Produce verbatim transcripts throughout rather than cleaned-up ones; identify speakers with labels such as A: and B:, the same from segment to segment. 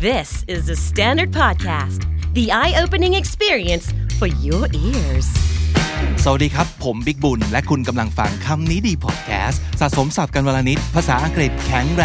A: This is the Standard Podcast, the eye-opening experience for your ears.
B: สวัสดีครับผมบิ๊กบุญและคุณกำลังฟังคำนี้ดีพอดแคสต์สะสมศัพท์กันวันละนิดภาษาอังกฤษแข็งแรง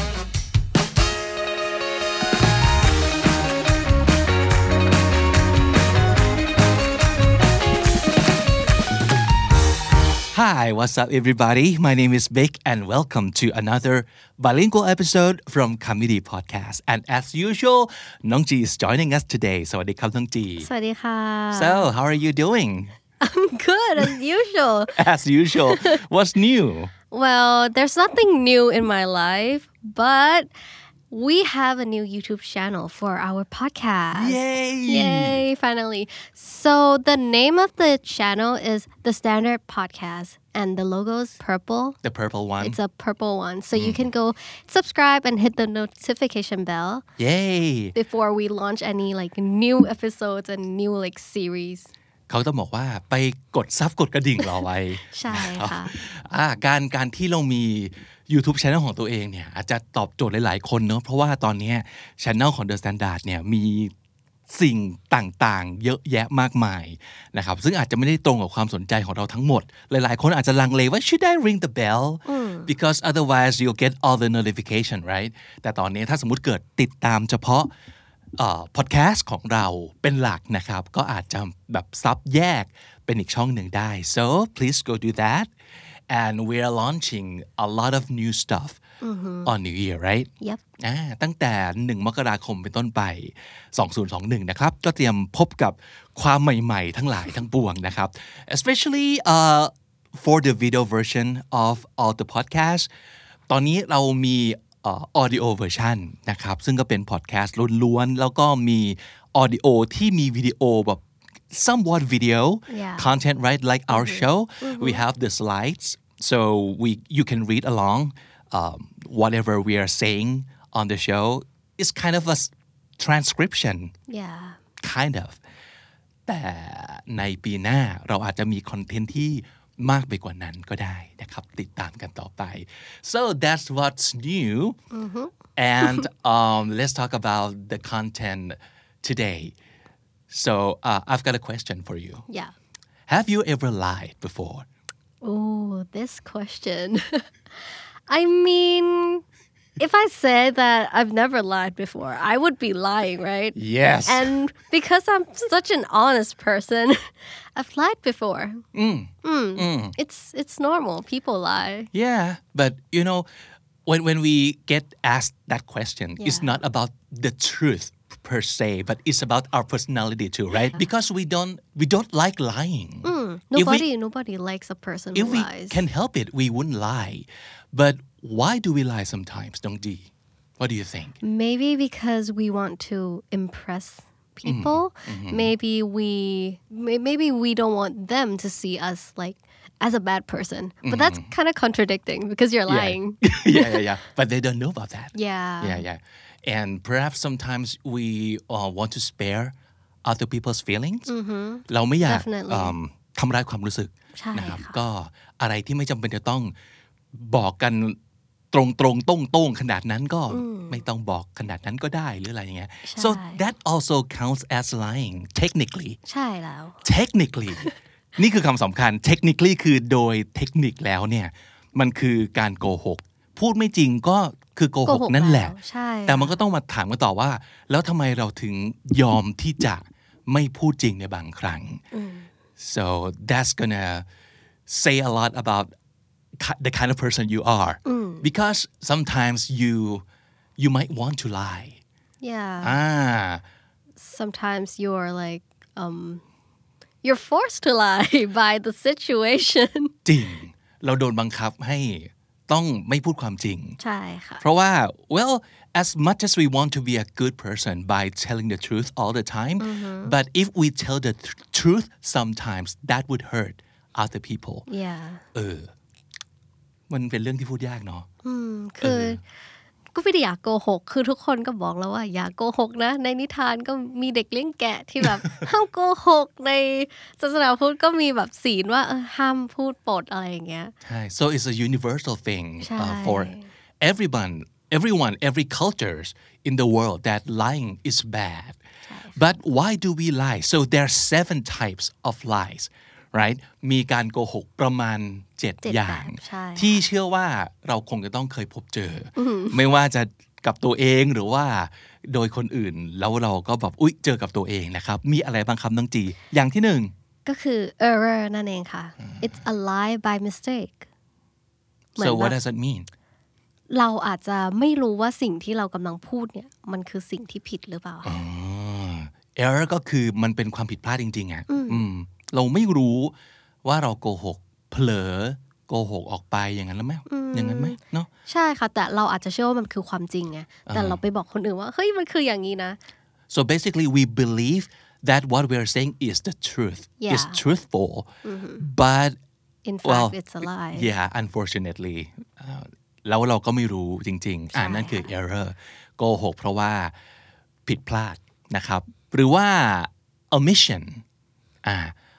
B: Hi, what's up everybody? My name is Vic and welcome to another bilingual episode from Comedy Podcast. And as usual, Nong Ji is joining us today. สวัสดีครับน้องจี
C: สวัสดีค่ะ
B: So, how are you doing?
C: I'm good as usual.
B: As usual. What's new?
C: Well, there's nothing new in my life, but we have a new YouTube channel for our podcast.
B: Yay!
C: Yay, finally. So the name of the channel is The Standard Podcast and the logo is purple.
B: The purple one.
C: It's a purple one. So mm. you can go subscribe and hit the notification bell.
B: Yay!
C: Before we launch any like new episodes and new like series.
B: เขาต้องบอกว่าไปกดซับกดกระดิ่งรอไว้
C: ใช่ค่ะ
B: อ่าการการที่เรามี YouTube Channel ของตัวเองเนี่ยอาจจะตอบโจทย์หลายๆคนเนอะเพราะว่าตอนนี้ Channel ของ The Standard เนี่ยมีสิ่งต่างๆเยอะแยะมากมายนะครับซึ่งอาจจะไม่ได้ตรงกับความสนใจของเราทั้งหมดหลายๆคนอาจจะลังเลว่า should I ring the bell because otherwise you'll get all the notification right แต่ตอนนี้ถ้าสมมุติเกิดติดตามเฉพาะเอ่อ podcast ของเราเป็นหลักนะครับก็อาจจะแบบซับแยกเป็นอีกช่องหนึ่งได้ so please go do that and we are launching a lot of new stuff mm-hmm. on New Year right
C: Yep
B: อ่าตั้งแต่หนึ่งมกราคมเป็นต้นไปสองพันยี่สิบเอ็ดนะครับก็เตรียมพบกับความใหม่ๆทั้งหลายทั้งปวงนะครับ especially uh, for the video version of all the podcasts ตอนนี้เรามีUh, audio version นะครับซึ่งก็เป็น podcast ล้วนๆแล้วก็มี audio ที่มีวิดีโอแบบ somewhat video
C: yeah.
B: content right like our
C: mm-hmm.
B: show
C: mm-hmm.
B: we have the slides so we you can read along um, whatever we are saying on the show is kind of a transcription
C: yeah
B: kind of แต่ในปีหน้าเราอาจจะมีคอนเทนต์ที่มากไปกว่านั้นก็ได้นะครับติดตามกันต่อไป so that's what's new
C: mm-hmm.
B: and um, let's talk about the content today so uh, I've got a question for you
C: yeah
B: have you ever lied before
C: oh this question I mean if I say that I've never lied before I would be lying right
B: yes
C: and because I'm such an honest person I've lied before
B: mm.
C: Mm.
B: Mm.
C: it's it's normal people lie
B: yeah but you know when when we get asked that question
C: yeah.
B: it's not about the truth per se but it's about our personality too right yeah. because we don't we don't like lying
C: mm. nobody
B: we,
C: nobody likes a person
B: if
C: who
B: we
C: lies
B: can help it we wouldn't lie but why do we lie sometimes Dong Ji what do you think
C: maybe because we want to impress people
B: mm-hmm.
C: maybe we maybe we don't want them to see us like as a bad person but mm-hmm. that's kind of contradicting because you're lying
B: yeah. yeah yeah yeah but they don't know about that
C: yeah
B: yeah yeah and perhaps sometimes we uh, want to spare other people's feelings
C: mm-hmm.
B: เราไม่อยาก
C: um,
B: ทำร้ายความรู้สึกนะครับก็อะไรที่ไม่จำเป็นจะต้องบอกกันตรงตรงต้งต้งขนาดนั้นก็ไม่ต้องบอกขนาดนั้นก็ได้หรืออะไรอย่างเงี้ย so that also counts as lying technically
C: ใช่แล้ว
B: technically นี่คือคำสำคัญ technically คือโดยเทคนิคแล้วเนี่ยมันคือการโกหกพูดไม่จริงก็คือโกหกนั่นแหละแต่มันก็ต้องมาถามกันต่อว่าแล้วทำไมเราถึงยอมที่จะไม่พูดจริงในบางครั้ง so that's gonna say a lot about the kind of person you are
C: mm.
B: because sometimes you you might want to lie
C: yeah
B: ah
C: sometimes you're like um you're forced to lie by the situation
B: จริงเราโดนบังคับให้ต้องไม่พูดความจริง
C: ใช่ค่ะ
B: เพราะว่า well as much as we want to be a good person by telling the truth all the time
C: mm-hmm.
B: but if we tell the th- truth sometimes that would hurt other people
C: yeah
B: เออมันเป็นเรื่องที่พูดยากเนาะ
C: อืมคือก็ไม่ได้อยากโกหกคือทุกคนก็บอกแล้วว่าอย่าโกหกนะในนิทานก็มีเด็กเลี้ยงแกะที่แบบ ห้ามโกหกในศาสนาพุทธก็มีแบบศีลว่าเออห้ามพูดปดอะไรอย่างเงี้ย
B: ใช่ so it's a universal thing uh, for everyone everyone every cultures in the world that lying is bad but why do we lie so there are seven types of lies right มีการโกหกประมาณเจ็ดอย่างที่เชื่อว่าเราคงจะต้องเคยพบเจอไม่ว่าจะกับตัวเองหรือว่าโดยคนอื่นแล้วเราก็แบบอุ๊ยเจอกับตัวเองนะครับมีอะไรบ้างครับน้องจีอย่างที่หนึ่ง
C: ก็คือ error นั่นเองค่ะ it's a lie by mistake
B: so what does that mean
C: เราอาจจะไม่รู้ว่าสิ่งที่เรากำลังพูดเนี่ยมันคือสิ่งที่ผิดหรือเปล่า
B: error ก็คือมันเป็นความผิดพลาดจริงๆอ่ะเราไม่รู้ว่าเราโกหกเผลอโกหกออกไปอย่างนั้นแล้วไหมอย่างนั้นไหมเนาะ
C: ใช่ค่ะแต่เราอาจจะเชื่อว่ามันคือความจริงไงแต่เราไปบอกคนอื่นว่าเฮ้ยมันคืออย่างนี้นะ
B: so basically we believe that what we are saying is the truth
C: yeah.
B: is truthful mm-hmm. but
C: in fact well, it's a lie
B: yeah unfortunately แล้วเราก็ไม่รู้จริงๆอ่านั่นคือ error โกหกเพราะว่าผิดพลาดนะครับหรือว่า omission อ่า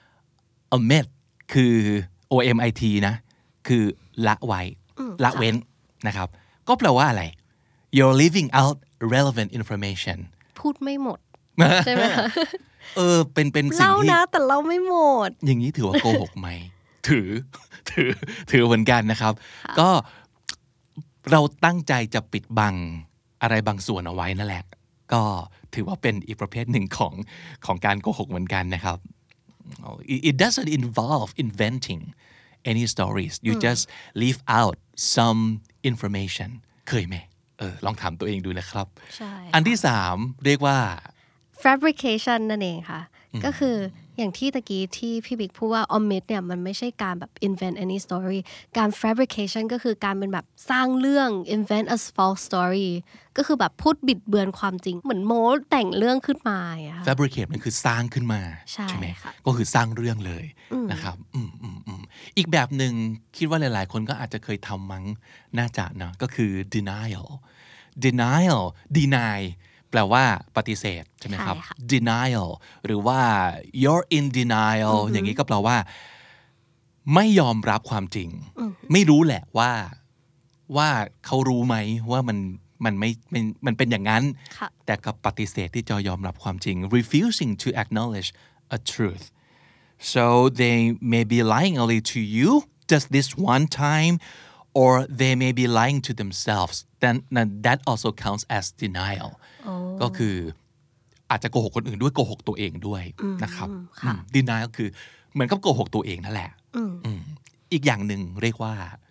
B: omit คือ o m i t นะคือละไว้ละเว้นนะครับก็แปลว่าอะไร you're leaving out relevant information
C: พูดไม่หมดใช่ไหมคะ
B: เออเป็นเป็นสิ่งที่
C: เล่านะแต่เราไม่หมด
B: อย่างนี้ถือว่าโกหกไหมถือถือถือเหมือนกันนะครับก็เราตั้งใจจะปิดบังอะไรบางส่วนเอาไว้นั่นแหละก็ถือว่าเป็นอีกประเภทหนึ่งของของการโกหกเหมือนกันนะครับ it doesn't involve inventing any stories you just leave out some information เคยไหมเออลองถามตัวเองดูนะครับ
C: ใช่
B: อันที่สามเรียกว่า
C: fabrication นั่นเองค่ะก็คืออย่างที่ตะกี้ที่พี่บิ๊กพูดว่า omit เนี่ยมันไม่ใช่การแบบ invent any story การ fabrication ก็คือการเป็นแบบสร้างเรื่อง invent a false story ก็คือแบบพูดบิดเบือนความจริงเหมือนโม้แต่งเรื่องขึ้นมาอ่ะ
B: fabricate มันคือสร้างขึ้นมา
C: ใช่ไหม
B: ก็คือสร้างเรื่องเลยนะครับอีกแบบหนึ่งคิดว่าหลายๆคนก็อาจจะเคยทำมั้งน่าจะเนาะก็คือ denial denial denyแปลว่าปฏิเสธใช่ไหมครับ denial หรือว่า you're in denial อย่างนี้ก็แปลว่าไม่ยอมรับความจริงไม่รู้แหละว่าว่าเขารู้ไหมว่ามันมันไม่มันเป็นอย่างนั้นแต่ก็ปฏิเสธที่จะยอมรับความจริง refusing to acknowledge a truth so they may be lying only to you just this one time or they may be lying to themselves then that also counts as denial ก็คืออาจจะโกหกคนอื่นด้วยโกหกตัวเองด้วยนะครับ denial ก็คือเหมือนกับโกหกตัวเองนั่นแหละอีกอย่างหนึ่งเรียกว่า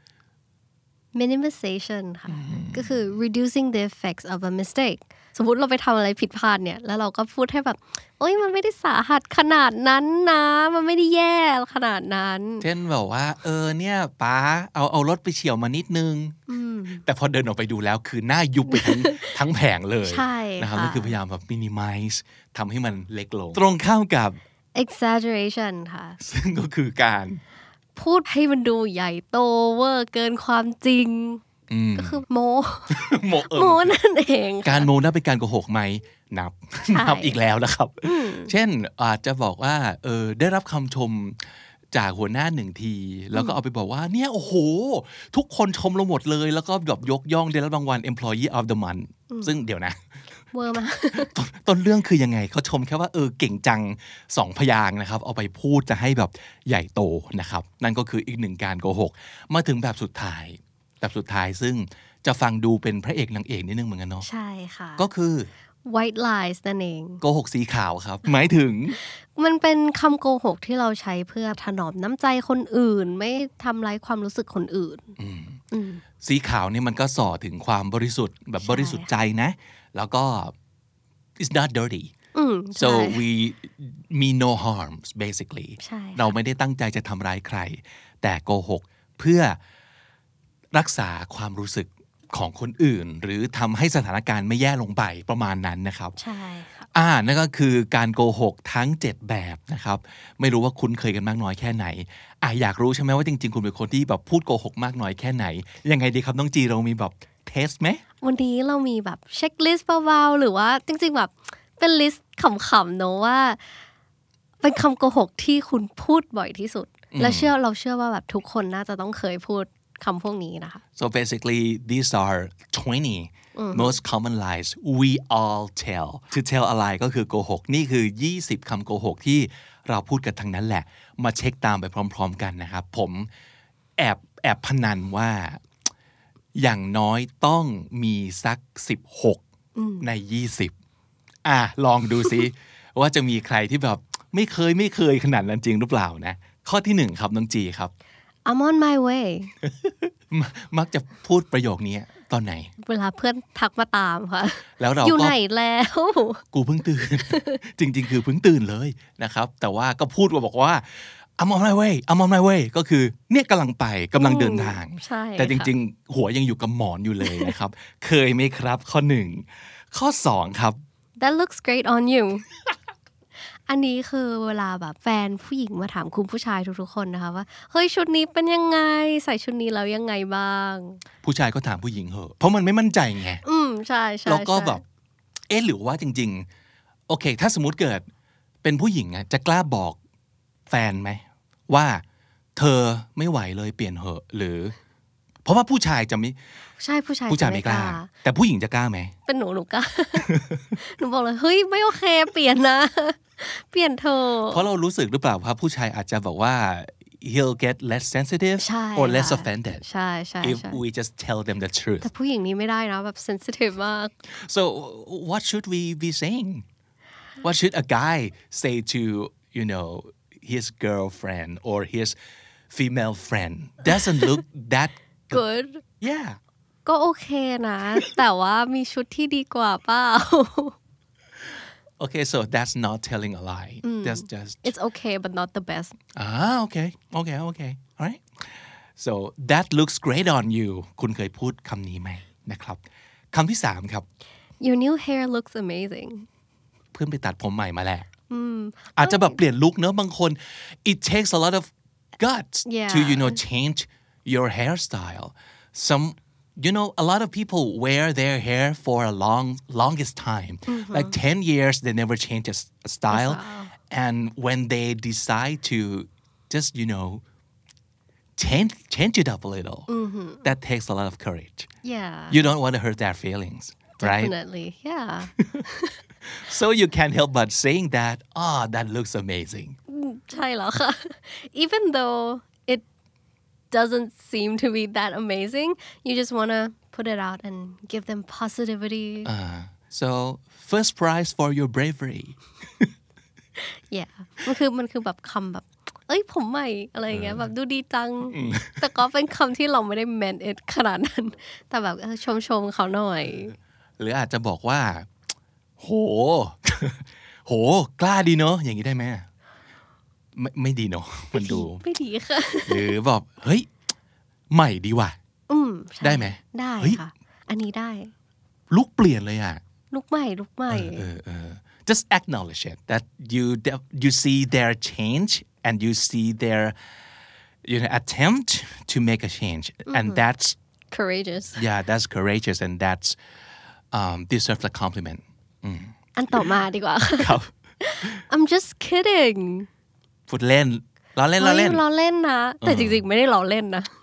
C: minimization ค่ะก็คือ reducing the effects of a mistake สมมุติเราไปทำอะไรผิดพลาดเนี่ยแล้วเราก็พูดให้แบบโอ๊ยมันไม่ได้สาหัสขนาดนั้นนะมันไม่ได้แย่ขนาดนั้น
B: เช่นแบบว่าเออเนี่ยป๊าเอาเอารถไปเฉี่ยวมานิดนึงแต่พอเดินออกไปดูแล้วคือหน้ายุบไปทั้ง ทั้งแผงเลยนะครับนั่นคือพยายามแบบ minimize ทำให้มันเล็กลงตรงข้ามกับ
C: exaggeration ค่ะ
B: ซึ่งก็คือการ
C: พูดให้มันดูใหญ่โตเวอร์เกินความจริงก็คือโม
B: โม
C: โมนั่นเอง
B: การโมนับเป็นการโกหกไหมนับนับอีกแล้วนะครับเช่นอาจจะบอกว่าเออได้รับคำชมจากหัวหน้าหนึ่งทีแล้วก็เอาไปบอกว่าเนี่ยโอ้โหทุกคนชมเราหมดเลยแล้วก็แบบยกย่องได้รับรางวัล employee of the month ซึ่งเดี๋ยวนะ
C: เวอร์มา
B: ต้นเรื่องคือยังไงเขาชมแค่ว่าเออเก่งจังสองพยางค์นะครับเอาไปพูดจะให้แบบใหญ่โตนะครับนั่นก็คืออีกหนึ่งการโกหกมาถึงแบบสุดท้ายแบบสุดท้ายซึ่งจะฟังดูเป็นพระเอกนางเอกนิดนึงเหมือนกันเนาะ
C: ใช่ค่ะ
B: ก็คือ
C: white lies นั่นเอง
B: โกหกสีขาวครับหมายถึง
C: มันเป็นคำโกหกที่เราใช้เพื่อถนอมน้ำใจคนอื่นไม่ทำร้ายความรู้สึกคนอื่น
B: สีขาวนี่มันก็ส่อถึงความบริสุทธิ์แบบบริสุทธิ์ใจนะแล้วก็ it's not dirty so we mean no harms basically เราไม่ได้ตั้งใจจะทำร้ายใครแต่โกหกเพื่อรักษาความรู้สึกของคนอื่นหรือทำให้สถานการณ์ไม่แย่ลงไปประมาณนั้นนะครับ
C: ใช่ค่ะ
B: อ่านั่นก็คือการโกหกทั้งเจ็ดแบบนะครับไม่รู้ว่าคุ้นเคยกันมากน้อยแค่ไหนอ่ะอยากรู้ใช่ไหมว่าจริงๆคุณเป็นคนที่แบบพูดโกหกมากน้อยแค่ไหนยังไงดีครับน้องจีเรามีแบบเทสไหม
C: วันนี้เรามีแบบเช็คลิสต์เบาๆหรือว่าจริงๆแบบเป็นลิสต์ขำๆเนอะว่าเป็นคำโกหกที่คุณพูดบ่อยที่สุดและเชื่อเราเชื่อว่าแบบทุกคนน่าจะต้องเคยพูดคำพวกนี้นะคะ
B: so basically these are twenty most common lies we all tell to tell อะไรก็คือโกหกนี่คือยี่สิบคำโกหกที่เราพูดกันทั้งนั้นแหละมาเช็คตามไปพร้อมๆกันนะครับผมแอบแอบพนันว่าอย่างน้อยต้องมีสักสิบหกในยี่สิบอ่ะลองดูซิ ว่าจะมีใครที่แบบไม่เคยไม่เคยขนาดนั้นจริงหรือเปล่านะข้อที่หนึ่งครับน้องจีครับ
C: I'm on my way
B: มักจะพูดประโยคนี้ตอนไหน
C: เวลาเพื่อนทักมาตามค่ะ
B: แล้วเราก็
C: อยู่ไหนแล้ว
B: กูเพิ่งตื่น จริงๆคือเพิ่งตื่นเลยนะครับแต่ว่าก็พูดว่าบอกว่า I'm on my way I'm on my way ก็คือเนี่ยกำลังไปกำลังเดินทางแต่จริงๆหัวยังอยู่กับหมอนอยู่เลยนะครับ เคยไหมครับข้อหนึ่งข้อสองครับ
C: That looks great on you อันนี้คือเวลาแบบแฟนผู้หญิงมาถามคุณผู้ชายทุกๆคนนะคะว่าเฮ้ยชุดนี้เป็นยังไงใส่ชุดนี้แล้วยังไงบ้าง
B: ผู้ชายก็ถามผู้หญิงเหอะเพราะมันไม่มั่นใจไง
C: อืมใช่ใช่
B: แล้วก็แบบเอ๊ะหรือว่าจริงๆโอเคถ้าสมมุติเกิดเป็นผู้หญิงอะจะกล้าบอกแฟนไหมว่าเธอไม่ไหวเลยเปลี่ยนเหอะหรือเพราะว่าผู้ชายจะไม่
C: ใช่ผู้ชาย
B: ผู้ชายไม่กล้าแต่ผู้หญิงจะกล้าไหม
C: เป็นหนูหนูกล้า หนูบอกเลยเฮ้ยไม่โอเคเปลี่ยนนะเปลี่ยนเธอ
B: เพราะเรารู้สึกหรือเปล่าว่าผู้ชายอาจจะบอกว่า he'll get less sensitive or less offended
C: ใช่ใช่
B: if we just tell them the truth
C: แต่ผู้หญิงนี้ไม่ได้นะแบบ sensitive มาก
B: so what should we be saying what should a guy say to you know his girlfriend or his female friend doesn't look that
C: good
B: yeah
C: ก็โอเคนะแต่ว่ามีชุดที่ดีกว่าเปล่า
B: Okay, so that's not telling a lie.
C: Mm.
B: That's just...
C: It's okay, but not the best.
B: Ah, okay. Okay, okay. All right. So, that looks great on you. คุณเคยพูดคำนี้ไหมนะครับคำที่สามครับ
C: Your new hair looks amazing.
B: เพื่อนไปตัดผมใหม่มาแหละอาจจะแบบเปลี่ยนลุคเนอะบางคน It takes a lot of guts
C: yeah.
B: to, you know, change your hairstyle. Some...You know, a lot of people wear their hair for a long, longest time. Mm-hmm. Like ten years, they never change a, a style. Wow. And when they decide to just, you know, change, change it up a little, mm-hmm. that takes a lot of courage.
C: Yeah.
B: You don't want to hurt their feelings, right?
C: Definitely, yeah.
B: So you can't help but saying that, ah, oh, that looks amazing.
C: ใช่แล้วค่ะ Even though...doesn't seem to be that amazing. You just want to put it out and give them positivity.
B: Uh, so, first prize for your bravery.
C: yeah. มันคือมันคือแบบคำแบบเอ้ยผมใหม่อะไรอย่างเงี้ยแบบดูดีจัง แต่ก็เป็นคำที่เราไม่ได้ meant it ขนาดนั้นแต่แบบชมชมเขาหน่อย
B: หรืออาจจะบอกว่าโหโหกล้าดีเนอะอย่างนี้ได้ไหมไม่ไม่ดีเนาะมันดู
C: ไม่ดีค่ะ
B: หรือบอกเฮ้ยใหม่ดีว่ะ
C: อืม
B: ได้ไหม
C: ได้ค่ะอันนี้ได้
B: ลุคเปลี่ยนเลยอ่ะ
C: ลุคใหม่ลุคใหม่
B: เออเออ just acknowledge it that you you see their change and you see their you know attempt to make a change mm-hmm. and that's
C: courageous
B: yeah that's courageous and that's um deserves a compliment
C: อันต่อมาดีกว่า
B: ครับ
C: I'm just kidding
B: พูดเล่นล้อเล่นล้อเล่น
C: ล้อเล่นนะแต่จริงๆไม่ได้ล้อเล่นนะ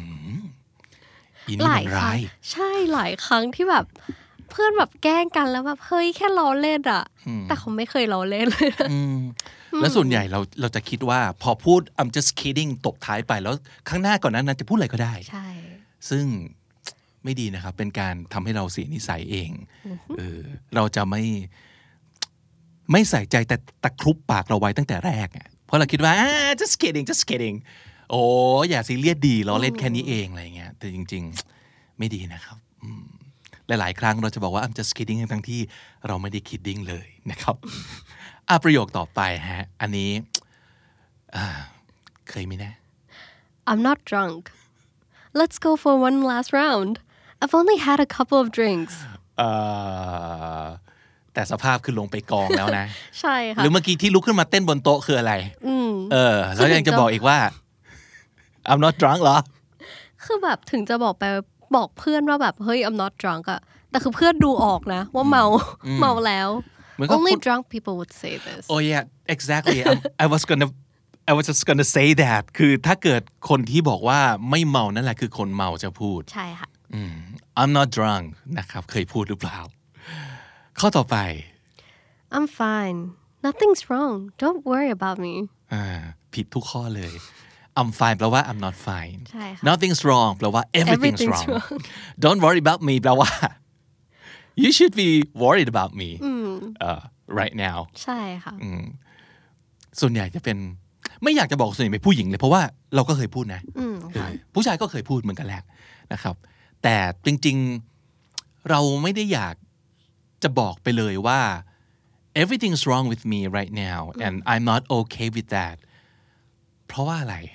B: หลายครั้ง
C: ใช่หลายครั้งที่แบบเพื่อนแบบแกล้งกันแล้วแบบเฮ้ยแค่ล้อเล่นอ่ะแต่เขาไม่เคยล้อเล่นเลย
B: แล้วส่วนใหญ่เราเราจะคิดว่าพอพูด I'm just kidding ตบท้ายไปแล้วข้างหน้าก่อนนั้นจะพูดอะไรก็ได้
C: ใช่
B: ซึ่งไม่ดีนะครับเป็นการทำให้เราเสียนิสัยเองเออเราจะไม่ไม่ใส่ใจแต่ตะครุบปากเราไว้ตั้งแต่แรกอ่ะเพราะเราคิดว่า just kidding just kidding โอ้อย่าซีเรียสดีล้อเล่นแค่นี้เองอะไรเงี้ยแต่จริงๆไม่ดีนะครับหลายๆครั้งเราจะบอกว่า I'm just kidding ทั้งที่เราไม่ได้ kidding เลยนะครับอ่ะประโยคต่อไปฮะอันนี้เคยไหมนะ
C: I'm not drunk let's go for one last round I've only had a couple of drinks
B: แต่สภาพคือลงไปกองแล้วนะ
C: ใช่ค่ะ
B: หรือเมื่อกี้ที่ลุกขึ้นมาเต้นบนโต๊ะคืออะไรเออแล้วยังจะบอกอีกว่า I'm not drunk เหรอ
C: คือแบบถึงจะบอกไปบอกเพื่อนว่าแบบเฮ้ย I'm not drunk อะแต่คือเพื่อนดูออกนะว่าเมาเมาแล้ว only drunk people would say this
B: oh yeah exactly I'm, I was gonna I was just gonna say that คือถ้าเกิดคนที่บอกว่าไม่เมานั่นแหละคือคนเมาจะพูด
C: ใช่ค่ะ
B: I'm not drunk นะครับเคยพูดหรือเปล่าข้อต่อไป
C: I'm fine nothing's wrong don't worry about me
B: อ่าผิดทุกข้อเลย I'm fine แปลว่า I'm not fine
C: ใช่ค่ะ
B: nothing's wrong แปลว่า everything's,
C: Everything's
B: wrong.
C: wrong
B: don't worry about me แปลว่า you should be worried about me uh, right now
C: ใช่ค่ะ
B: ส่วนใหญ่จะเป็นไม่อยากจะบอกส่วนใหญ่เป็นผู้หญิงเลยเพราะว่าเราก็เคยพูดนะผู้ชายก็เคยพูดเหมือนกันแหละนะครับแต่จริงๆเราไม่ได้อยากจะบอกไปเลยว่า everything's wrong with me right now and I'm not okay with that เพราะว่าอะไร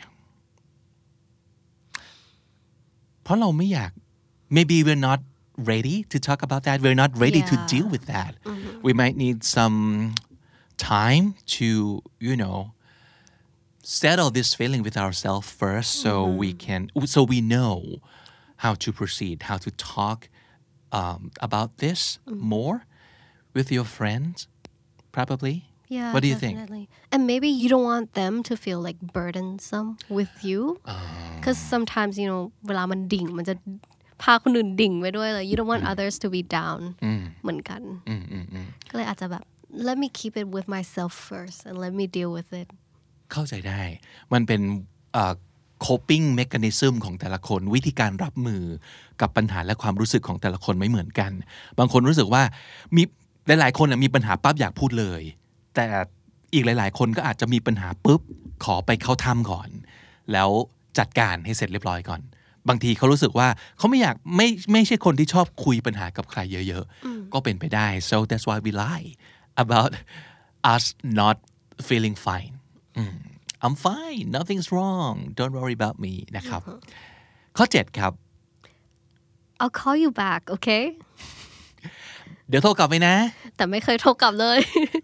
B: เพราะเราไม่อยาก maybe we're not ready to talk about that we're not ready
C: yeah.
B: to deal with that mm-hmm. we might need some time to you know settle this feeling with ourselves first so mm-hmm. we can so we know how to proceed how to talk um, about this mm-hmm. more with your friends probably
C: yeah
B: what do you
C: definitely.
B: think
C: and maybe you don't want them to feel like burdensome with you because uh. sometimes you know เวลามันดิ่งมันจะพาคนอื่นดิ่งไปด้วยเลย you don't want mm. others to be down เหมือนกันก็เลยอาจจะแบบ let me keep it with myself first and let me deal with it
B: เข้าใจได้มันเป็น uh, coping mechanism ของแต่ละคนวิธีการรับมือกับปัญหาและความรู้สึกของแต่ละคนไม่เหมือนกันบางคนรู้สึกว่ามีหลายๆคนมีปัญหาปั๊บอยากพูดเลยแต่อีกหลายๆคนก็อาจจะมีปัญหาปุ๊บขอไปเข้าถ้ำก่อนแล้วจัดการให้เสร็จเรียบร้อยก่อนบางทีเขารู้สึกว่าเขาไม่อยากไม่ไม่ใช่คนที่ชอบคุยปัญหากับใครเยอะๆก็เป็นไปได้ so that's why we lie about us not feeling fine I'm fine nothing's wrong don't worry about me นะครับข้อเจ็ดครับ
C: I'll call you back okay
B: เดี๋ยวโทรกลับไปนะ
C: แต่ไม่เคยโทรกลับเลย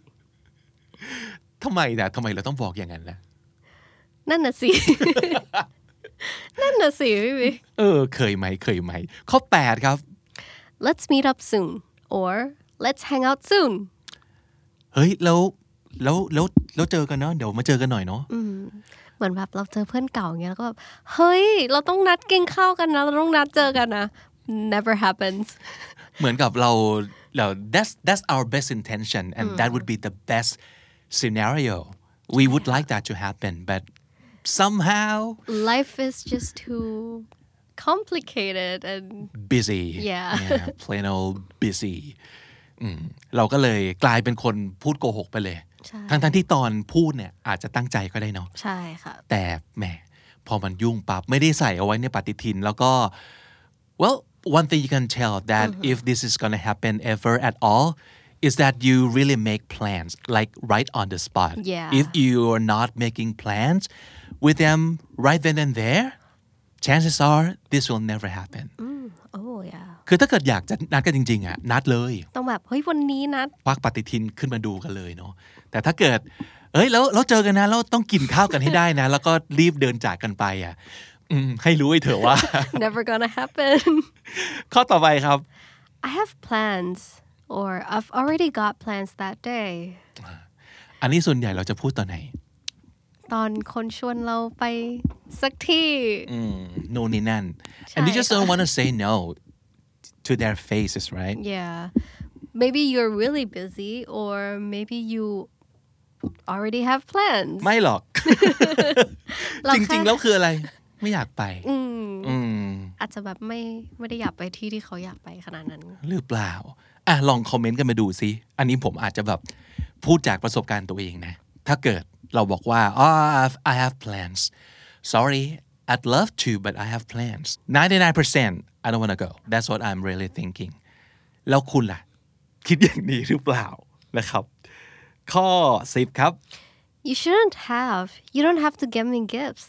B: ทำไมนะทำไมเราต้องบอกอย่างนั้นล่ะ
C: นั่นน่ะสิ นั่นน่ะสิพี่บิ๊ก
B: เออเคยไหมเคยไหมข้อแปดครับ
C: Let's meet up soon or let's hang out soon
B: เฮ้ยแล้วแล้วแล้วแล้วเจอกันเนาะเดี๋ยวมาเจอกันหน่อยเนาะ
C: เหมือนแบบเราเจอเพื่อนเก่าอย่างเงี้ยแล้วก็แบบเฮ้ยเราต้องนัดกินข้าวกันนะเราต้องนัดเจอกันนะ never happens
B: เหมือนกับเราเรา that's that's our best intention and that would be the best scenario we would like that to happen but somehow
C: life is just too complicated and
B: busy
C: yeah,
B: yeah plain old busy เราก็เลยกลายเป็นคนพูดโกหกไปเลยทั้งทั้งที่ตอนพูดเนี่ยอาจจะตั้งใจก็ได้เนาะ
C: ใช่ค่ะ
B: แต่แหมพอมันยุ่งปั๊บไม่ได้ใส่เอาไว้ในปฏิทินแล้วก็ well one thing you can tell that mm-hmm. if this is gonna happen ever at all is that you really make plans like right on the spot
C: yeah.
B: if you are not making plans with them right then and there chances are this will never happen
C: mm. oh yeah
B: คือถ้าเกิดอยากจะนัดกันจริงๆอ่ะนัดเลย
C: ต้องแบบเฮ้ยวันนี้นัด
B: ปักปฏิทินขึ้นมาดูกันเลยเนาะแต่ถ้าเกิดเอ้ยแล้วเราเจอกันนะแล้วต้องกินข้าวกันให้ได้นะแล้วก็รีบเดินจากกันไปอ่ะให้รู้ไว้เถอะว่า
C: never gonna happen
B: ข้อต่อไปครับ
C: I have plans or I've already got plans that day
B: อันนี้ส่วนใหญ่เราจะพูดตอนไหน
C: ตอนคนชวนเราไปสักที่
B: โน่นนี่นั่น and you just don't want to say no to their faces right
C: yeah maybe you're really busy or maybe you already have plans
B: ไม่หรอก จริงๆแล้วคืออะไรไม่อยากไป
C: อาจจะแบบไม่ไม่ได้อยากไปที่ที่เขาอยากไปขนาดนั้น
B: หรือเปล่าอ่ะลองคอมเมนต์กันมาดูซิอันนี้ผมอาจจะแบบพูดจากประสบการณ์ตัวเองนะถ้าเกิดเราบอกว่า oh I have plans sorry I'd love to but I have plans ninety-nine percent I don't want to go that's what I'm really thinking แล้วคุณล่ะคิดอย่างนี้หรือเปล่านะครับข้อสิบครับ
C: you shouldn't have you don't have to get me gifts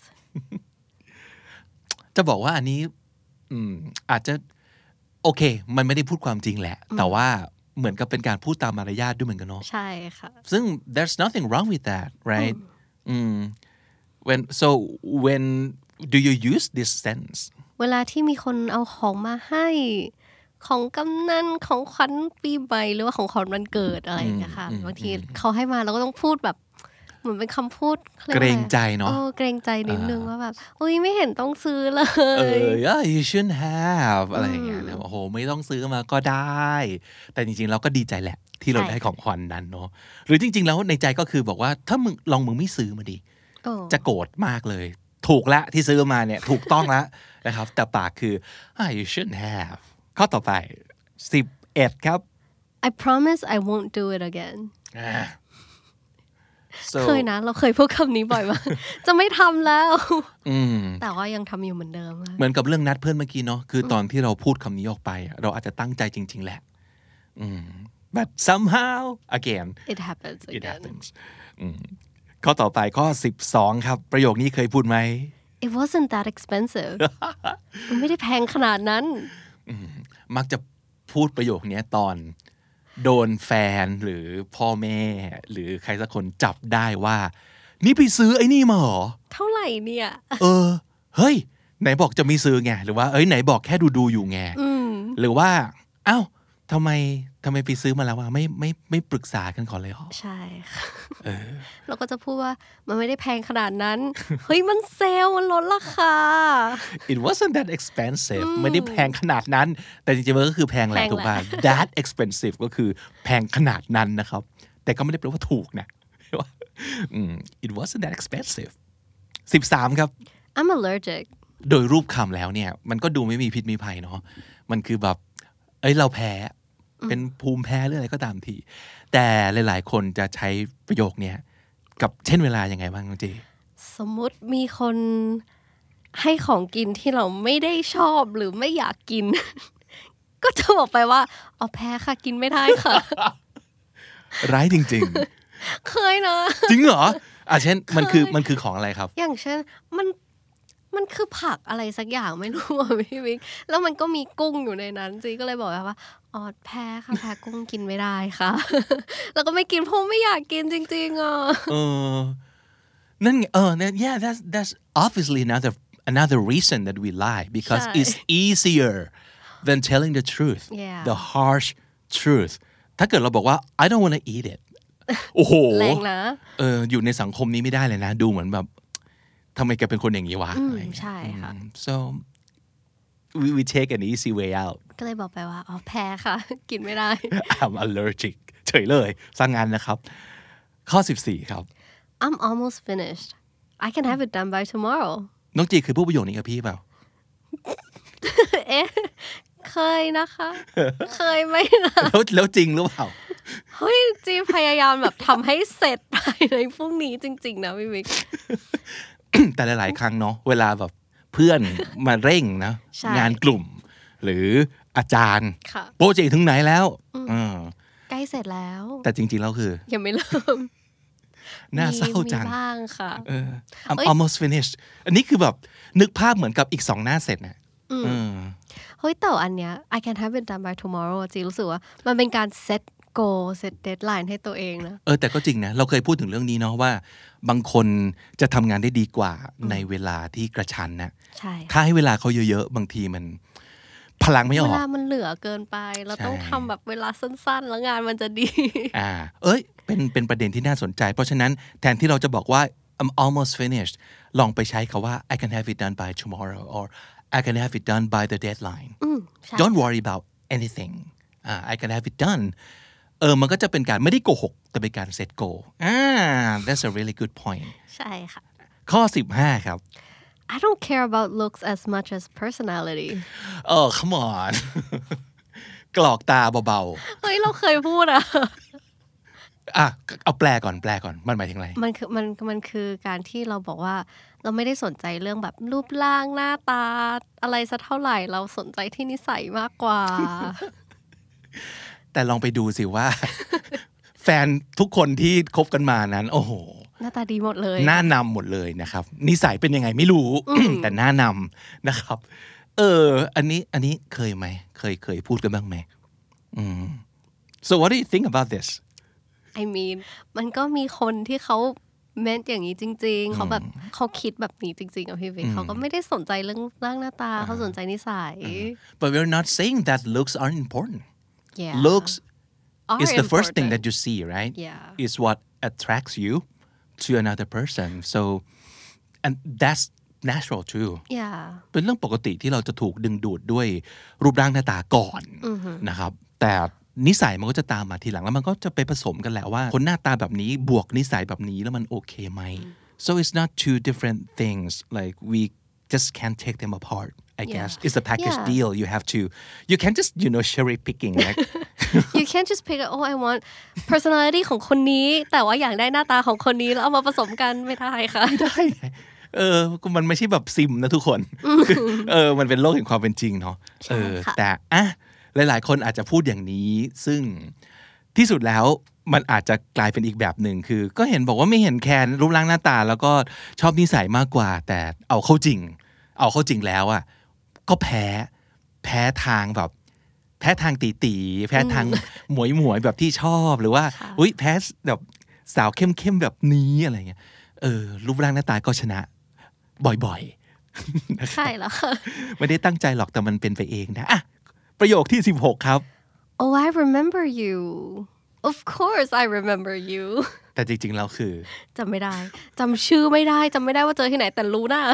B: จะบอกว่าอันนี้อืมอาจจะโอเคมันไม่ได้พูดความจริงแหละแต่ว่าเหมือนกับเป็นการพูดตามมารยาทด้วยเหมือนกันเนาะ
C: ใช่ค่ะ
B: ซึ่ง there's nothing wrong with that right อืม when so when do you use this sense
C: เวลาที่มีคนเอาของมาให้ของกำนันของขวัญปีใหม่หรือว่าของขวัญวันเกิดอะไรอย่างเงี้ยค่ะบางทีเขาให้มาเราก็ต้องพูดแบบเหมือนเป็นคำพูด
B: เกรงใจเนาะ
C: โอ้เกรงใจนิดนึงว่าแบบอุ้ยไม่เห็นต้องซื้อเล
B: ยเออ yeah you shouldn't have อะไรอย่างเงี้ยโอ้โหไม่ต้องซื้อมาก็ได้แต่จริงๆเราก็ดีใจแหละที่เราได้ของขวัญนั้นเนาะหรือจริงๆแล้วในใจก็คือบอกว่าถ้ามึงลองมึงไม่ซื้อมาดิจะโกรธมากเลยถูกละที่ซื้อมาเนี่ยถูกต้องละนะครับแต่ปากคือ ah you shouldn't have ข้อต่อไปสิบเอ็ดครับ
C: I promise I won't do it again
B: so
C: เคยนะเราเคยพูดคำนี้บ่อยมากจะไม่ทำแล้วแต่ว่ายังทำอยู่เหมือนเดิม
B: เหมือนกับเรื่องนัดเพื่อนเมื่อกี้เนาะคือตอนที่เราพูดคำนี้ออกไปเราอาจจะตั้งใจจริงๆแหละbut somehow again
C: it happens
B: it happens ข้อต่อไปข้อสิบสองครับประโยคนี้เคยพูดไหม
C: it wasn't that expensive มันไม่ได้แพงขนาดนั้น
B: มักจะพูดประโยคนี้ตอนโดนแฟนหรือพ่อแม่หรือใครสักคนจับได้ว่านี่ไปซื้อไอ้นี่มาเหรอ
C: เท่าไหร่เนี่ย
B: เออเฮ้ยไหนบอกจะไม่ซื้อไงหรือว่าเอ้ยไหนบอกแค่ดูดูอยู่ไงหรือว่าอ้าวทำไมทำไมไปซื้อมาแล้ววะไม่ไม่ไม่ปรึกษากันก่อนเลยหรอ
C: ใช่ค่ะเราก็จะพูดว่ามันไม่ได้แพงขนาดนั้นเฮ้ยมันเซลล์มันลดราคา
B: It wasn't that expensive ไม่ได้แพงขนาดนั้นแต่จริงๆมันก็คือแพงแหละถูกป่ะ that expensive ก็คือแพงขนาดนั้นนะครับแต่ก็ไม่ได้แปลว่าถูกนะ It wasn't that expensive สิบสามครับ
C: I'm allergic
B: โดยรูปคำแล้วเนี่ยมันก็ดูไม่มีพิษมีภัยเนาะมันคือแบบเอ้ยเราแพ้เป็นภูมิแพ้หรืออะไรก็ตามทีแต่หลายๆคนจะใช้ประโยคนี้กับเช่นเวลายังไงบ้างน้องจี
C: สมมุติมีคนให้ของกินที่เราไม่ได้ชอบหรือไม่อยากกิน ก็จะบอกไปว่าอ๋อแพ้ค่ะกินไม่ได้ค่ะ
B: ร้ายจริง
C: ๆ เคยนะ
B: จริงเหรออ่ะเช่นมันคือมันคือของอะไรครับ
C: อย่างเช่นมันมันคือผักอะไรสักอย่างไม่รู้อ่ะพี่วิกแล้วมันก็มีกุ้งอยู่ในนั้นจีก็เลยบอกว่าอ๋อแพ้ค่ะแพ้กุ้งกินไม่ได้ค่ะ แล้วก็ไม่กินเพราะไม่อยากกินจริงๆอ่ะ
B: เออนั่นเออ yeah that's that's obviously another another reason that we lie because it's easier than telling the truth the harsh truth ถ้าเกิดเราบอกว่า I don't want to eat it โอ้โห
C: แรงนะ
B: เอออยู่ในสังคมนี้ไม่ได้เลยนะดูเหมือนแบบทำไมแกเป็นคนอย่างนี้วะ
C: ใช่ค่ะ
B: so we we take an easy way out
C: ก็เลยบอกไปว่าอ๋อแพ้ค่ะกินไม่ได้
B: I'm allergic เฉยเลยสร้างงานนะครับข้อสิบสี่ครับ
C: I'm almost finished I can have it done by tomorrow
B: น้องจีคือพูดประโยคนี้กับพี่เปล่า
C: เอ๊ะเคยนะคะเคยไหมนะ
B: แล้วแล้วจริงหรือเปล่า
C: เฮ้ยจีพยายามแบบทำให้เสร็จภายในพรุ่งนี้จริงๆนะพี่วิก
B: แต่หลายๆครั้งเนาะเวลาแบบเพื่อนมาเร่งนะงานกลุ่มหรืออาจารย์โปรเจกต์ถึงไหนแล้ว
C: ใกล้เสร็จแล้ว
B: แต่จริงๆแล้วคือ
C: ยังไม่เริ่ม
B: น่าเศร้าจัง
C: มีบ้างค่ะ
B: I'm almost finished อันนี้คือแบบนึกภาพเหมือนกับอีกสองหน้าเสร็จนะ
C: เฮ้ยแต่อันเนี้ย I can have it done by tomorrow จีรู้สึกว่ามันเป็นการเซตgoal set deadline ให้ตัวเองนะ
B: เออแต่ก็จริงนะเราเคยพูดถึงเรื่องนี้เนาะว่าบางคนจะทำงานได้ดีกว่าในเวลาที่กระชั้นนะ
C: ใช่
B: ถ้าให้เวลาเขาเยอะๆบางทีมันพลังไม่ออก
C: เวลามันเหลือเกินไปเราต้องทำแบบเวลาสั้นๆแล้วงานมันจะดี
B: อ่าเอ้ยเป็นเป็นประเด็นที่น่าสนใจเพราะฉะนั้นแทนที่เราจะบอกว่า I'm almost finished ลองไปใช้คำว่า I can have it done by tomorrow or I can have it done by the deadline don't worry about anything uh, I can have it doneเออมันก็จะเป็นการไม่ได้โกหกแต่เป็นการเซตโกอ่า that's a really good point
C: ใช่ค่ะ
B: ข้อสิบห้าครับ
C: I don't care about looks as much as personality
B: เออ come on กรอกตาเบา
C: ๆเฮ้ยเราเคยพูดอะ
B: อ่ะเอาแปลก่อนแปลก่อนมันหมายถึงอะไร
C: มันคือมันมันคือการที่เราบอกว่าเราไม่ได้สนใจเรื่องแบบรูปร่างหน้าตาอะไรสักเท่าไหร่เราสนใจที่นิสัยมากกว่า
B: แต่ลองไปดูสิว่าแฟนทุกคนที่คบกันมานั้นโอ้โห
C: หน้าตาดีหมดเลย
B: หน้านำหมดเลยนะครับนิสัยเป็นยังไงไม่รู้ แต่หน้านำนะครับเอออันนี้อันนี้เคยไหมเคยเคยพูดกันบ้างไหมอืม so what do you think about this
C: I mean มันก็มีคนที่เขาเม้นอย่างนี้จริงๆเขาแบบเขาคิดแบบนี้จริงๆอ่ะพี่วิเขาก็ไม่ได้สนใจเรื่องร่างหน้าตาเขาสนใจนิสัย
B: but we're not saying that looks aren't important
C: yeah.
B: looks
C: Are
B: is the
C: important.
B: first thing that you see right
C: yeah
B: is what attracts you to another person so and that's natural too
C: yeah
B: เป็นเรื่องปกติที่เราจะถูกดึงดูดด้วยรูปร่างหน้าตาก่อนนะครับแต่นิสัยมันก็จะตามมาทีหลังแล้วมันก็จะไปผสมกันแหละว่าคนหน้าตาแบบนี้บวกนิสัยแบบนี้แล้วมันโอเคไหม so it's not two different things like we just can't take them apart I guess
C: Yeah.
B: it's a package
C: Yeah.
B: deal you have to you can't just you know cherry picking like
C: you can't just pick oh I want personality ของคนนี้แต่ว่าอยากได้หน้าตาของคนนี้แล้วเอามาผสมกันไม่ได้ค่ะ
B: ไม่ได้เออมันไม่ใช่แบบซิมนะทุกคนเออมันเป็นโลกแห่งความเป็นจริงเนาะเออแต่อ่ะหลายๆคนอาจจะพูดอย่างนี้ซึ่งที่สุดแล้วมันอาจจะกลายเป็นอีกแบบหนึ่งคือก็เห็นบอกว่าไม่เห็นแคร์รูปร่างหน้าตาแล้วก็ชอบนิสัยมากกว่าแต่เอาเข้าจริงเอาเข้าจริงแล้วอ่ะก็แพ้แพ้ทางแบบแพ้ทางตีตีแพ้ทางหมวยหมวยแบบที่ชอบหรือว่าอุ้ยแพ้แบบสาวเข้มเข้มแบบนี้อะไรเงี้ยเออรูปร่างหน้าตาก็ชนะบ่อยๆ
C: ใช่แล้วค่ะ
B: ไม่ได้ตั้งใจหรอกแต่มันเป็นไปเองนะอ่ะประโยคที่สิบหกครับ
C: Oh I remember you Of course I remember you
B: แต่จริงๆแล้วคือ
C: จำไม่ได้จำชื่อไม่ได้จำไม่ได้ว่าเจอที่ไหนแต่รู้นะ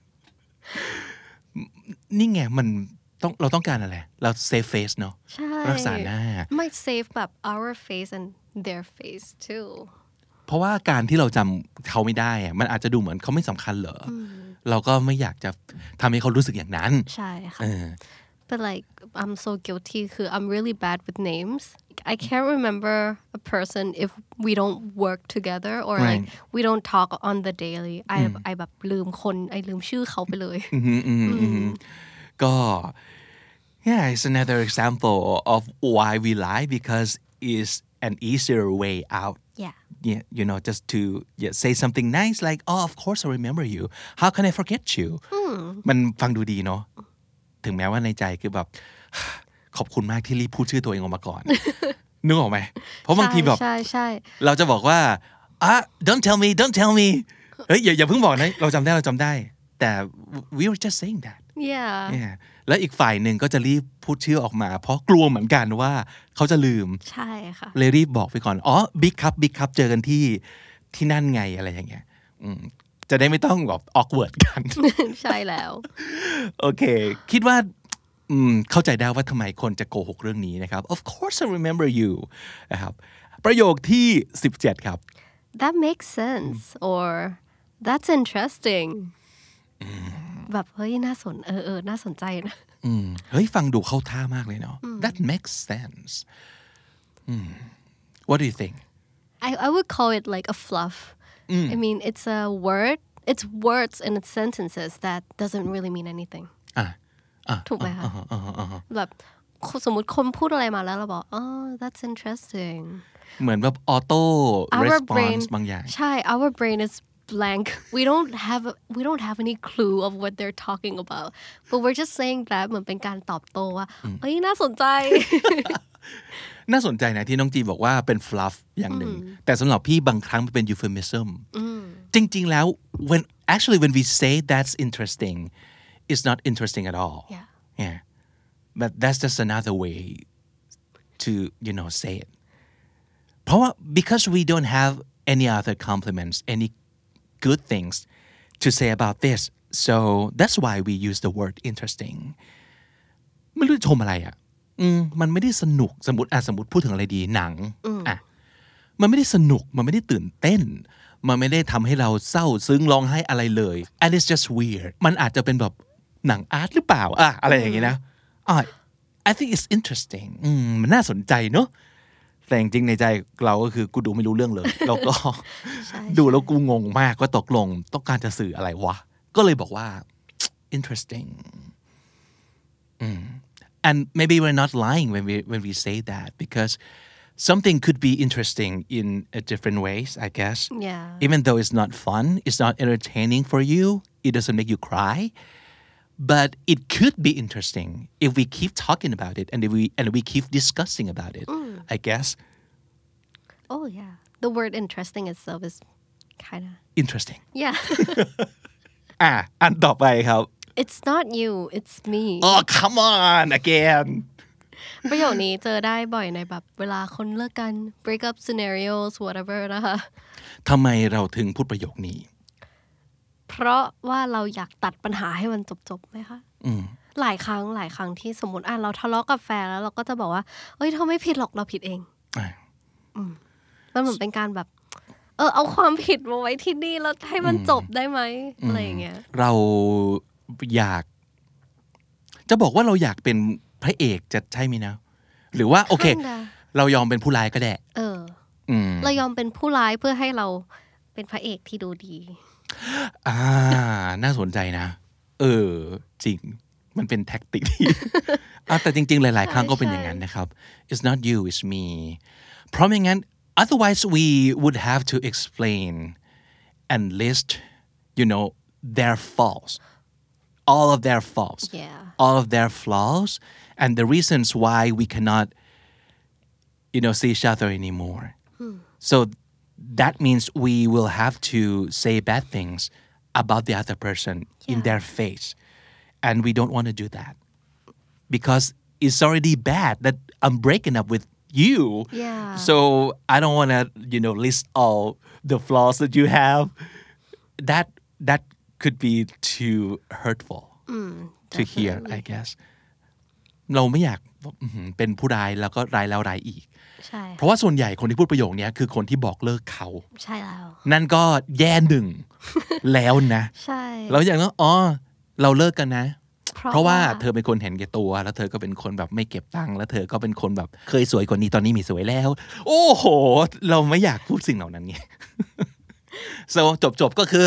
B: นี่ไงมันต้องเราต้องการอะไรเรา save face เนาะรักษาหน้า
C: ไม่ save แบบ our face and their face too
B: เพราะว่าการที่เราจำเขาไม่ได้อะมันอาจจะดูเหมือนเขาไม่สำคัญเหรอเราก็ไม่อยากจะทำให้เขารู้สึกอย่างนั้น
C: ใช่ค่ะ but like I'm so guilty คือ I'm really bad with names I can't remember a person if we don't work together or
B: right.
C: like we don't talk on the daily I I แบบลืมคนไอลืมชื่อเขาไปเลย
B: ก็ yeah it's another example of why we lie because it's an easier way out
C: yeah
B: yeah you know just to yeah, say something nice like oh of course I remember you how can I forget you มันฟังดูดีเนาะถึงแม้ว่าในใจคือแบบขอบคุณมากที่รีบพูดชื่อตัวเองออกมาก่อนนึกออกไหมเพราะบางทีแบบเราจะบอกว่าอ่ะ don't tell me don't tell me เฮ้ยอย่าอย่าเพิ่งบอกนะเราจำได้เราจำได้แต่ we were just saying that
C: yeah
B: yeah แล้วอีกฝ่ายหนึ่งก็จะรีบพูดชื่อออกมาเพราะกลัวเหมือนกันว่าเขาจะลืม
C: ใช่ค่ะ
B: เลยรีบบอกไปก่อนอ๋อ big cup big cup เจอกันที่ที่นั่นไงอะไรอย่างเงี้ยจะได้ไม่ต้องแบบ awkward กัน
C: ใช่แล้ว
B: โอเคคิดว่าเข้าใจได้ว่าทำไมคนจะโกหกเรื่องนี้นะครับ Of course I remember you นะครับประโยคที่สิบเจ็ดครับ
C: That makes sense or That's interesting แบบเฮ้ยน่าสนเออเออน่าสนใจนะ
B: เฮ้ยฟังดูเข้าท่ามากเลยเนาะ That makes sense What do you think
C: I I would call it like a fluff I mean it's a word it's words and it's sentences that doesn't really mean anything
B: อ่ะ
C: ถูกไหมคะแบบสมมติคนพูดอะไรมาแล้วเราบอกอ๋อ that's interesting
B: เหมือนแบบออโต้ response บางอย่าง
C: ใช่ our brain is blank we don't have we don't have any clue of what they're talking about but we're just saying that เหมือนเป็นการตอบโต้ว่าเอ้ยน่าสนใจ
B: น่าสนใจนะที่น้องจีบอกว่าเป็น fluff อย่างหนึ่งแต่สำหรับพี่บางครั้งมันเป็น euphemism จริงๆแล้ว when actually when we say that's interesting it's not interesting at all
C: yeah
B: yeah but that's just another way to you know say it เพราะว่า because we don't have any other compliments any good things to say about this so that's why we use the word interesting ไม่รู้จะชมอะไรอ่ะอืมมันไม่ได้สนุกสมมติอ่ะสมมติพูดถึงอะไรดีหนังอ่ะมันไม่ได้สนุกมันไม่ได้ตื่นเต้นมันไม่ได้ทำให้เราเศร้าซึ้งร้องไห้อะไรเลย and it's just weird มันอาจจะเป็นแบบหนังอาร์ตหรือเปล่าอ่ะอะไรอย่างงี้นะอ่ะ I think it's interesting อืมมันน่าสนใจเนอะแต่จริงๆในใจเราก็คือกูดูไม่รู้เรื่องเลยแล้วก็ดูแล้วกูงงมากว่าตกลงต้องการจะสื่ออะไรวะก็เลยบอกว่า interesting อืมand maybe we're not lying when we when we say that because something could be interesting in a different ways I guess
C: yeah
B: even though it's not fun it's not entertaining for you it doesn't make you cry but it could be interesting if we keep talking about it and if we and we keep discussing about it mm. I guess
C: oh yeah the word interesting itself is kind of
B: interesting
C: yeah
B: อ่ะอันต่อไปครับ
C: It's not you, it's me.
B: Oh, come on again.
C: ประโยคนี้เจอได้บ่อยในแบบเวลาคนเลิกกัน break up scenarios whatever นะคะ
B: ทำไมเราถึงพูดประโยคนี้
C: เพราะว่าเราอยากตัดปัญหาให้มันจบๆไหมคะ
B: อืม
C: หลายครั้งหลายครั้งที่สมมติอ่ะเราทะเลาะกับแฟนแล้วเราก็จะบอกว่าเอ้ยเธอไม่ผิดหรอกเราผิดเองอืมมันเหมือนเป็นการแบบเออเอาความผิดมาไว้ที่นี่แล้วให้มันจบได้ไหมอะไรอย่างเงี้ย
B: เราอยากจะบอกว่าเราอยากเป็นพระเอกจะใช่ไหมนะหรือว่าโอเคเรายอมเป็นผู้ร้ายก็ได้
C: เออเรายอมเป็นผู้ร้ายเพื่อให้เราเป็นพระเอกที่ดูดี
B: อ่าน่าสนใจนะเออจริงมันเป็นแท็กติกที่ แต่จริงๆหลายๆครั้งก็เป็นอย่างนั้นนะครับ it's not you it's me เพราะไม่งั้น otherwise we would have to explain and list you know their faults all of their faults
C: yeah.
B: all of their flaws and the reasons why we cannot you know see each other anymore hmm. so that means we will have to say bad things about the other person yeah. in their face and we don't want to do that because it's already bad that I'm breaking up with you
C: yeah.
B: so I don't want to you know list all the flaws that you have that that could be too hurtful
C: mm,
B: to hear I guess เราไม่อยากเป็นผู้ร้ายแล้วก็ร้ายแล้วร้ายอีก
C: ใช่
B: เพราะว่าส่วนใหญ่คนที่พูดประโยคนี้คือคนที่บอกเลิกเขา
C: ใช่แล้ว
B: นั่นก็แย่หนึ่งแล้วนะ
C: ใช่
B: แล้วอย่างนั้นอ๋อเราเลิกกันนะเพราะว่าเธอเป็นคนเห็นแก่ตัวแล้วเธอก็เป็นคนแบบไม่เก็บตังค์แล้วเธอก็เป็นคนแบบเคยสวยกว่านี้ตอนนี้มีสวยแล้วโอ้โหเราไม่อยากพูดสิ่งเหล่านั้นไง so จบๆก็คือ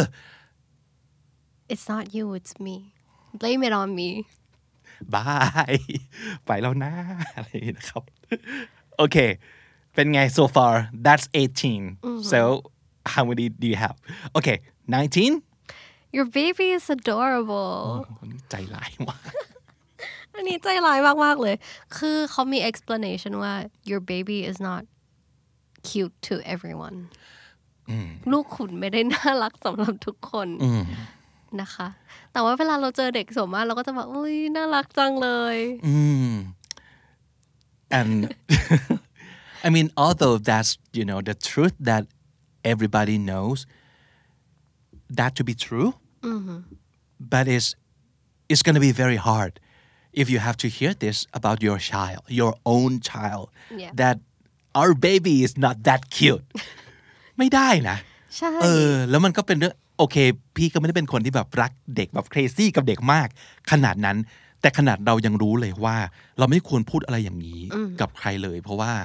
C: it's not you it's me blame it on me
B: บายไปแล้วนะอะไรนะครับโอเคเป็นไง so far that's eighteen mm-hmm. so how many do you have okay nineteen
C: your baby is adorable
B: ใจร้ายมาก
C: อันนี้ใจร้ายมากๆเลยคือเขามี explanation ว่า your baby is not cute to everyone ลูกคุณไม่ได้น่ารักสำหรับทุกคนนะคะแต่ว่าเวลาเราเจอเด็กส่วนมากเราก็จะแบบอุ้ยน่ารักจังเลย
B: อืม and I mean although that's you know the truth that everybody knows that to be true
C: mm-hmm.
B: but it's it's going to be very hard if you have to hear this about your child your own child
C: yeah.
B: that our baby is not that cute ไม่ได้นะ
C: ใช่
B: เออแล้วมันก็เป็นเรื่องโอเคพี่ก็ไม่ได้เป็นคนที่แบบรักเด็กแบบ crazy กับเด็กมากขนาดนั้นแต่ขนาดเรายังรู้เลยว่าเราไม่ควรพูดอะไรอย่างนี้กับใครเลยเพราะว่า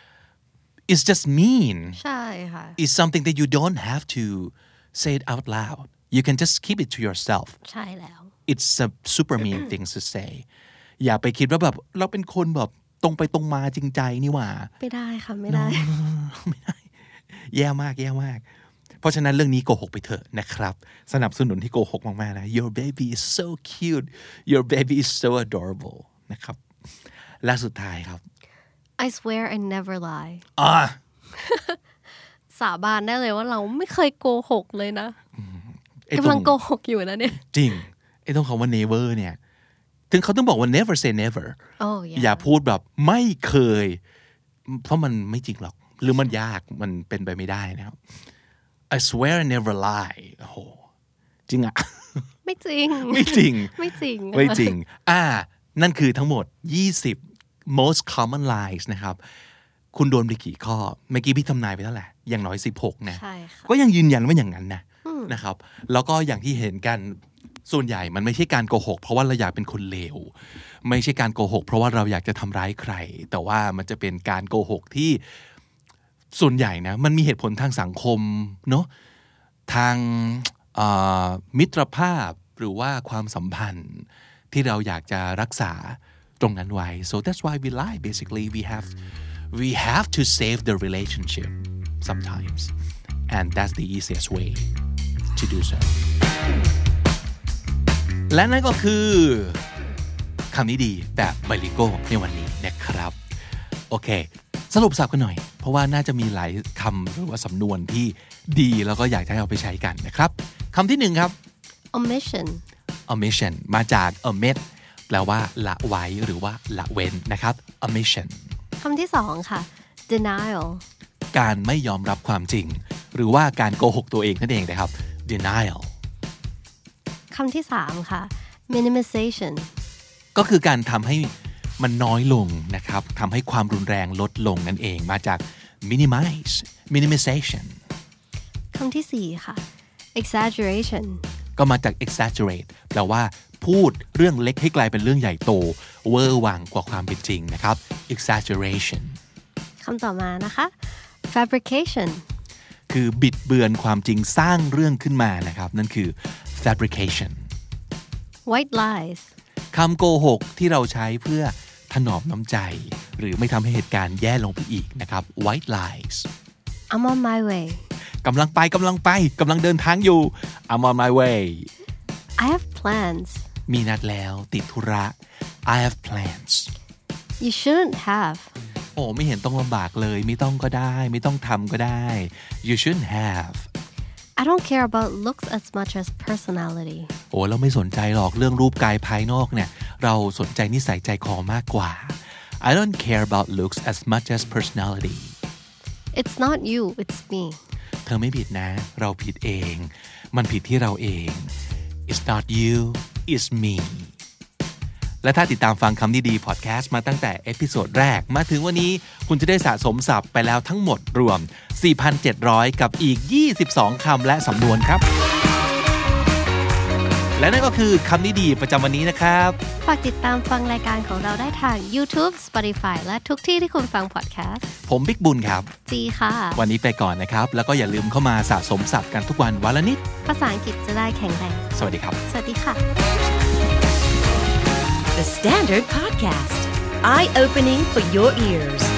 B: it's just mean
C: ใช่ค่ะ
B: it's something that you don't have to say it out loud you can just keep it to yourself
C: ใช่แล้ว
B: it's a super mean thing to say อย่าไปคิดว่าแบบเราเป็นคนแบบตรงไปตรงมาจริงใจนี่หว่า
C: ไม่ได้ค่ะไม่ได้
B: ไม่ได้แย่มากแย่มากเพราะฉะนั้นเรื่องนี้โกหกไปเถอะนะครับสนับสนุนที่โกหกมากๆนะ your baby is so cute your baby is so adorable นะครับและสุดท้ายครับ
C: I swear I never lie
B: อ่า
C: สาบานได้เลยว่าเราไม่เคยโกหกเลยนะกำลังโกหกอยู่นะเนี่ย
B: จริงไอ้ต้องคำว่า never เนี่ยถึงเขาต้องบอกว่า never say never
C: oh, yeah.
B: อย่าพูดแบบไม่เคยเพราะมันไม่จริงหรอกหรือมันยากมันเป็นไปไม่ได้นะครับ I swear I never lie โอ้โหจริงอะ
C: ไม่จริง
B: ไม่จริง
C: ไม่จริง
B: ไม่จริงอ่านั่นคือทั้งหมดยี่สิบ most common lies นะครับคุณโดนไปกี่ข้อเมื่อกี้พี่ทำนายไปเท่าไหร่อย่างน้อยสิบหกนะก็ยังยืนยันว่าอย่างนั้นนะนะครับแล้วก็อย่างที่เห็นกันส่วนใหญ่มันไม่ใช่การโกหกเพราะว่าเราอยากเป็นคนเลวไม่ใช่การโกหกเพราะว่าเราอยากจะทำร้ายใครแต่ว่ามันจะเป็นการโกหกที่ส่วนใหญ่นะมันมีเหตุผลทางสังคมเนาะทางมิตรภาพหรือว่าความสัมพันธ์ที่เราอยากจะรักษาตรงนั้นไว้ so that's why we lie basically we have we have to save the relationship sometimes and that's the easiest way to do so และนั่นก็คือคำนี้ดีแบบไบลิโก้ในวันนี้นะครับโอเคสรุปสับกันหน่อยเพราะว่าน่าจะมีหลายคำหรือว่าสำนวนที่ดีแล้วก็อยากให้เอาไปใช้กันนะครับคำที่หนึ่งครับ
C: omission
B: omission มาจาก omit แปลว่าละไว้หรือว่าละเว้นนะครับ omission
C: คำที่สองค่ะ denial
B: การไม่ยอมรับความจริงหรือว่าการโกหกตัวเองนั่นเองนะครับ denial
C: คำที่สามค่ะ minimization
B: ก็คือการทำให้มันน้อยลงนะครับทำให้ความรุนแรงลดลงนั่นเองมาจาก minimize minimization
C: คำที่สี่ค่ะ exaggeration
B: ก็มาจาก exaggerate แปลว่าพูดเรื่องเล็กให้กลายเป็นเรื่องใหญ่โตเวอร์วังกว่าความเป็นจริงนะครับ exaggeration
C: คำต่อมานะคะ fabrication
B: คือบิดเบือนความจริงสร้างเรื่องขึ้นมานะครับนั่นคือ fabrication
C: white lies
B: คำโกหกที่เราใช้เพื่อถนอมน้ำใจหรือไม่ทำให้เหตุการณ์แย่ลงไปอีกนะครับ white lies
C: I'm on my way
B: กำลังไปกำลังไปกำลังเดินทางอยู่ I'm on my way
C: I have plans
B: มีนัดแล้วติดธุระ I have plans
C: You shouldn't have
B: โอ้ไม่เห็นต้องลำบากเลยไม่ต้องก็ได้ไม่ต้องทำก็ได้ You shouldn't have
C: I don't care about looks as much as personality
B: โอ้เราไม่สนใจหรอกเรื่องรูปกายภายนอกเนี่ยเราสนใจนิสัยใจคอมากกว่า I don't care about looks as much as personality
C: It's not you it's me
B: เธอไม่ผิดนะเราผิดเองมันผิดที่เราเอง It's not you it's me และถ้าติดตามฟังคำดีๆพอดแคสต์มาตั้งแต่เอพิโซดแรกมาถึงวันนี้คุณจะได้สะสมศัพท์ไปแล้วทั้งหมดรวม สี่พันเจ็ดร้อย กับอีกยี่สิบสองคำและสำนวนครับและนั่นก็คือคำนี้ดีประจำวันนี้นะครับ
C: ฝากติดตามฟังรายการของเราได้ทาง YouTube Spotify และทุกที่ที่คุณฟังพอดแคสต์
B: ผมบิ๊กบุญครับ
C: จีค่ะ
B: วันนี้ไปก่อนนะครับแล้วก็อย่าลืมเข้ามาสะสมศัพท์กันทุกวันวันละนิด
C: ภาษาอังกฤษจะได้แข็งแรง
B: สวัสดีครับ
C: สวัสดีค่ะ
A: The Standard Podcast Eye Opening for Your Ears